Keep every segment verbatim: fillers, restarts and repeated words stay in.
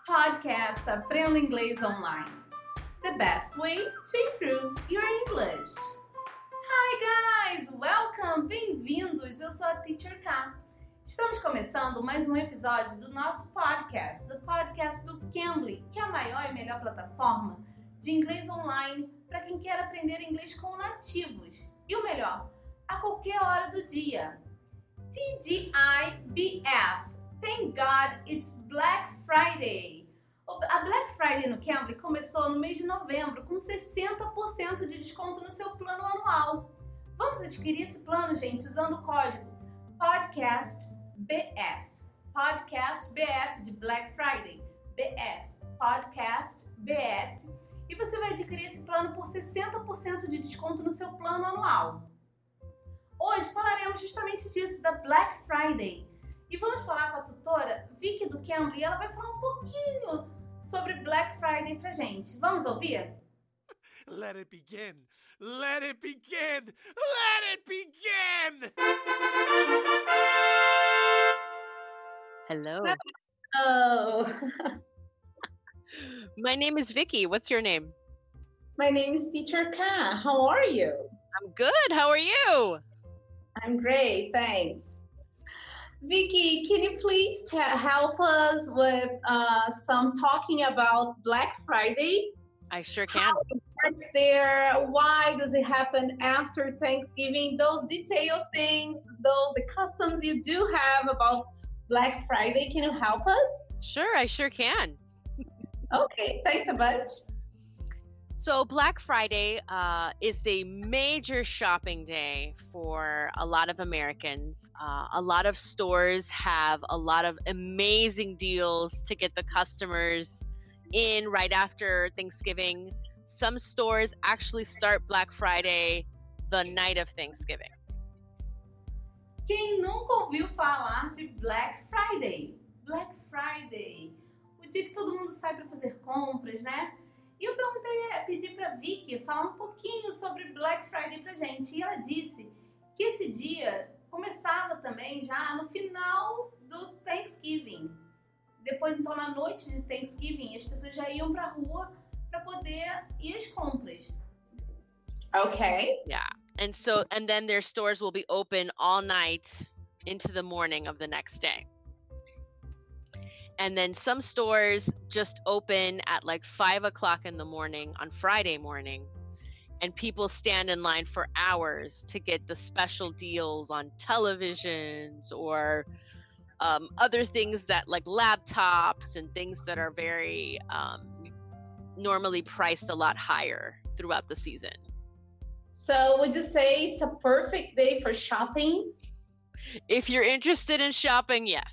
Podcast Aprenda Inglês Online. The best way to improve your English. Hi guys, welcome, bem-vindos. Eu sou a Teacher K. Estamos começando mais um episódio do nosso podcast, do podcast do Cambly, que é a maior e melhor plataforma de inglês online para quem quer aprender inglês com nativos. E o melhor, a qualquer hora do dia. T G I B F. Thank God it's Black Friday. A Black Friday no Cambly começou no mês de novembro com sessenta por cento de desconto no seu plano anual. Vamos adquirir esse plano, gente, usando o código PODCASTBF. Podcast B F de Black Friday. B F. Podcast B F. E você vai adquirir esse plano por sessenta por cento de desconto no seu plano anual. Hoje falaremos justamente disso, da Black Friday. E vamos falar com a tutora Vicky do Cambly. Ela vai falar um pouquinho sobre Black Friday pra gente. Vamos ouvir? Let it begin! Let it begin! Let it begin! Hello. Oh. My name is Vicky. What's your name? My name is Teacher K. How are you? I'm good. How are you? I'm great, thanks. Vicky, can you please t- help us with uh, some talking about Black Friday? I sure can. How it works there? Why does it happen after Thanksgiving? Those detailed things, though the customs you do have about Black Friday, can you help us? Sure, I sure can. Okay, thanks a bunch. So Black Friday uh, is a major shopping day for a lot of Americans. Uh, a lot of stores have a lot of amazing deals to get the customers in right after Thanksgiving. Some stores actually start Black Friday the night of Thanksgiving. Quem nunca ouviu falar de Black Friday? Black Friday, o dia que todo mundo sai para fazer compras, né? E eu perguntei, pedi para Vicky falar um pouquinho sobre Black Friday pra gente. E ela disse que esse dia começava também já no final do Thanksgiving. Depois, então, na noite de Thanksgiving, as pessoas já iam pra rua para poder ir às compras. Okay. Yeah. And so, and then their stores will be open all night into the morning of the next day. And then some stores just open at like five o'clock in the morning on Friday morning. And people stand in line for hours to get the special deals on televisions or um, other things that like laptops and things that are very um, normally priced a lot higher throughout the season. So would you say it's a perfect day for shopping? If you're interested in shopping, yes.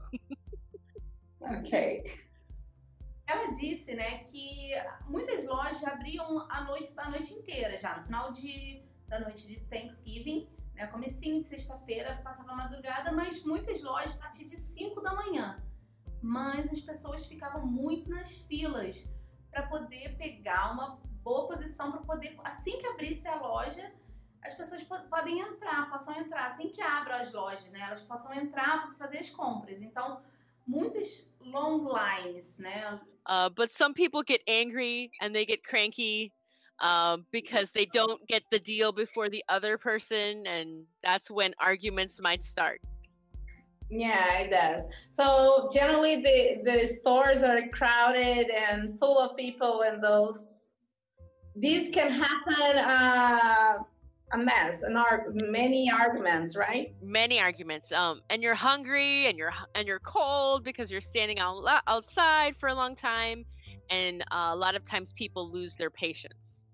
Ok. Ela disse, né, que muitas lojas abriam a noite, a noite inteira já, no final de, da noite de Thanksgiving, né, comecinho de sexta-feira, passava a madrugada, mas muitas lojas a partir de cinco da manhã. Mas as pessoas ficavam muito nas filas para poder pegar uma boa posição, para poder, assim que abrisse a loja, as pessoas po- podem entrar, possam entrar, assim que abram as lojas, né, elas possam entrar para fazer as compras. Então, muitas long lines, né? Uh, but some people get angry and they get cranky um, because they don't get the deal before the other person, and that's when arguments might start. Yeah, it does. So generally the, the stores are crowded and full of people, and those these can happen uh, a mess, an ar- many arguments, right? Many arguments. Um, and you're hungry and you're and you're cold because you're standing out, outside for a long time, and uh, a lot of times people lose their patience.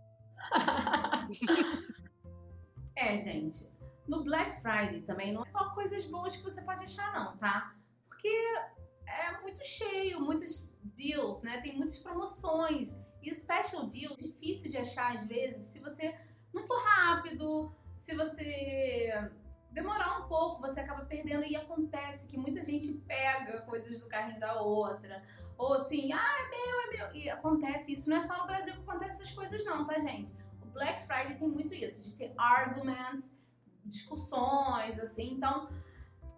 É, gente. No Black Friday também não é só coisas boas que você pode achar, não, tá? Porque é muito cheio, muitos deals, né? Tem muitas promoções. E special deal, difícil de achar às vezes, se você não for rápido, se você demorar um pouco, você acaba perdendo. E acontece que muita gente pega coisas do carrinho da outra. Ou assim, ah, é meu, é meu. E acontece isso. Não é só no Brasil que acontece essas coisas não, tá, gente? O Black Friday tem muito isso, de ter arguments, discussões, assim. Então,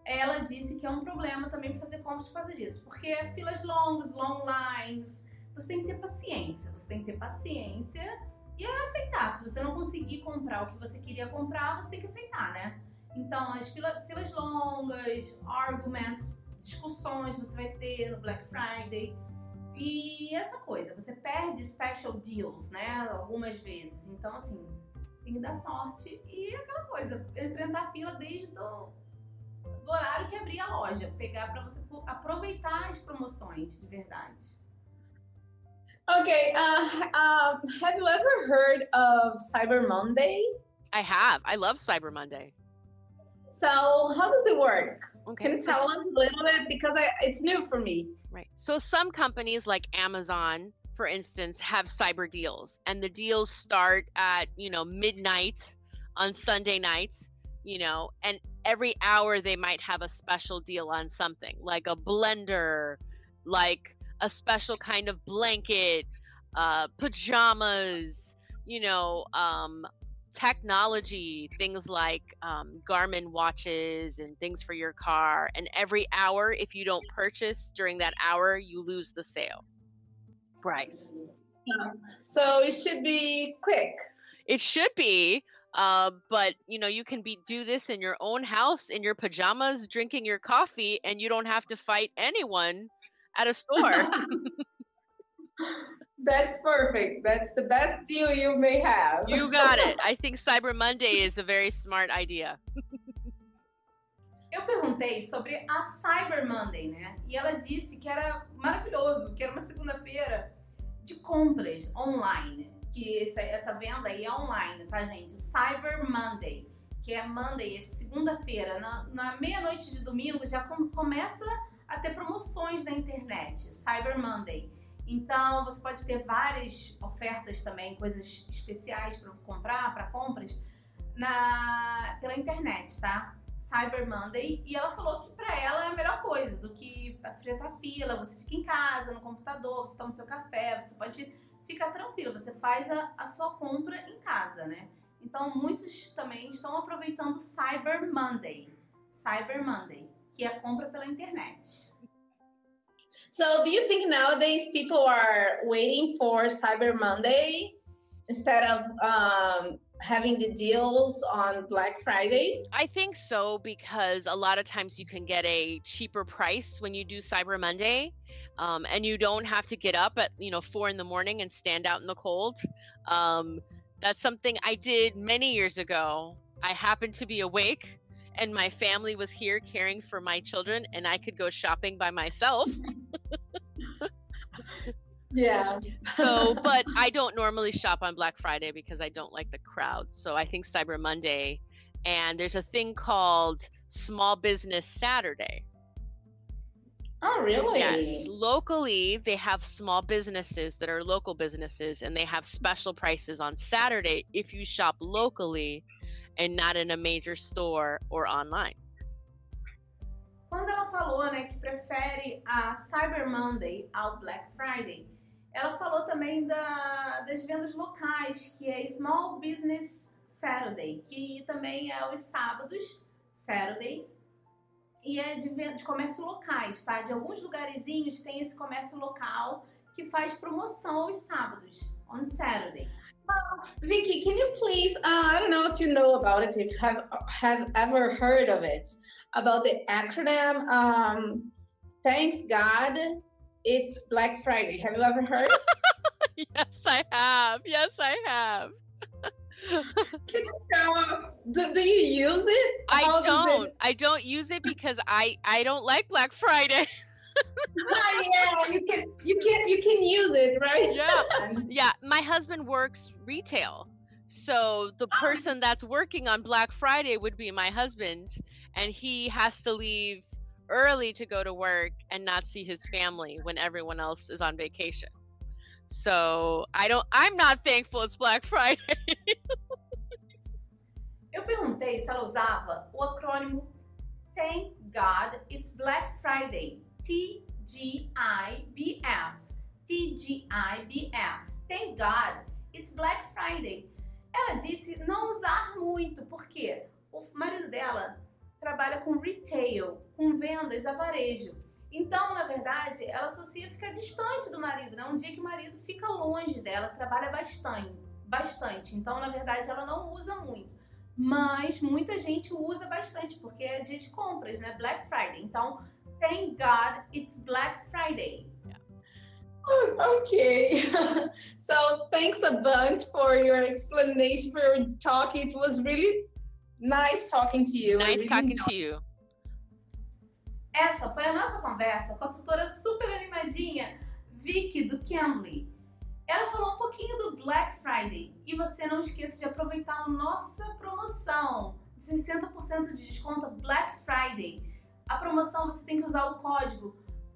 ela disse que é um problema também fazer compras por causa disso, porque é filas longas, long lines, você tem que ter paciência, você tem que ter paciência e aceitar. Se você não conseguir comprar o que você queria comprar, você tem que aceitar, né? Então, as fila, filas longas, arguments, discussões você vai ter no Black Friday. E essa coisa, você perde special deals, né? Algumas vezes. Então, assim, tem que dar sorte. E aquela coisa, enfrentar a fila desde do, do horário que abrir a loja. Pegar para você aproveitar as promoções de verdade. Okay, uh, uh, have you ever heard of Cyber Monday? I have. I love Cyber Monday. So how does it work? Okay. Can you tell us a little bit? Because I, it's new for me. Right. So some companies like Amazon, for instance, have cyber deals, and the deals start at, you know, midnight on Sunday nights, you know, and every hour they might have a special deal on something, like a blender, like a special kind of blanket, uh, pajamas, you know, um, technology, things like um, Garmin watches and things for your car. And every hour, if you don't purchase during that hour, you lose the sale price. Uh, so it should be quick. It should be, uh, but you know, you can be do this in your own house, in your pajamas, drinking your coffee, and you don't have to fight anyone at a store. That's perfect. That's the best deal you may have. You got it. I think Cyber Monday is a very smart idea. Eu perguntei sobre a Cyber Monday, né? E ela disse que era maravilhoso, que era uma segunda-feira de compras online. Que essa, essa venda aí é online, tá, gente? Cyber Monday, que é Monday, segunda-feira, na, na meia-noite de domingo, já com, começa a ter promoções na internet. Cyber Monday. Então, você pode ter várias ofertas também, coisas especiais para comprar, para compras, na, pela internet, tá? Cyber Monday. E ela falou que para ela é a melhor coisa do que enfrentar fila. Você fica em casa, no computador, você toma seu café, você pode ficar tranquilo, você faz a, a sua compra em casa, né? Então, muitos também estão aproveitando Cyber Monday. Cyber Monday, que é a compra pela internet. So do you think nowadays people are waiting for Cyber Monday instead of um, having the deals on Black Friday? I think so, because a lot of times you can get a cheaper price when you do Cyber Monday, um, and you don't have to get up at, you know, four in the morning and stand out in the cold. Um, that's something I did many years ago. I happened to be awake and my family was here caring for my children, and I could go shopping by myself. Yeah. So, but I don't normally shop on Black Friday because I don't like the crowd. So I think Cyber Monday, and there's a thing called Small Business Saturday. Oh, really? Yes. Locally, they have small businesses that are local businesses, and they have special prices on Saturday if you shop locally and not in a major store or online. Quando ela falou, né, que prefere a Cyber Monday ao Black Friday, ela falou também da, das vendas locais, que é Small Business Saturday, que também é os sábados, Saturdays, e é de, de comércio locais, tá? De alguns lugarzinhos tem esse comércio local que faz promoção aos sábados, on Saturdays. Uh, Vicky, can you please, uh, I don't know if you know about it, if you have, have ever heard of it, about the acronym, um, Thanks God, It's Black Friday. Have you ever heard? Yes, I have. Yes, I have. Can you tell, do, do you use it? I How don't. It... I don't use it because I, I don't like Black Friday. Oh, yeah, you can you can you can use it, right? Yeah. Yeah, my husband works retail. So the person that's working on Black Friday would be my husband, and he has to leave early to go to work and not see his family when everyone else is on vacation. So I don't I'm not thankful it's Black Friday. Eu perguntei se ela usava o acrônimo Thank God It's Black Friday. T G I B F. T G I B F. Thank God It's Black Friday. Ela disse não usar muito, porque o marido dela trabalha com retail, com vendas a varejo. Então, na verdade, ela associa ficar distante do marido, né? Um dia que o marido fica longe dela, trabalha bastante, bastante. Então, na verdade, ela não usa muito. Mas muita gente usa bastante, porque é dia de compras, né? Black Friday. Então, thank God it's Black Friday. Okay. So, thanks a bunch for your explanation, for your talk. It was really nice talking to you. Nice really talking enjoyed. to you. Essa foi a nossa conversa com a tutora super animadinha, Vicky do Cambly. Ela falou um pouquinho do Black Friday e você não esqueça de aproveitar a nossa promoção de sessenta por cento de desconto Black Friday. A promoção você tem que usar o código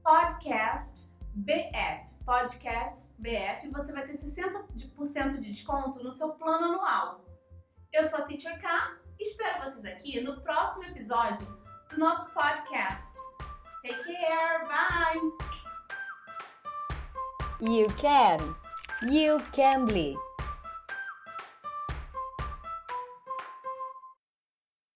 PODCASTBF. PODCASTBF, você vai ter sessenta por cento de desconto no seu plano anual. Eu sou a Teacher K e espero vocês aqui no próximo episódio do nosso podcast. Take care, bye! You can! You Cambly!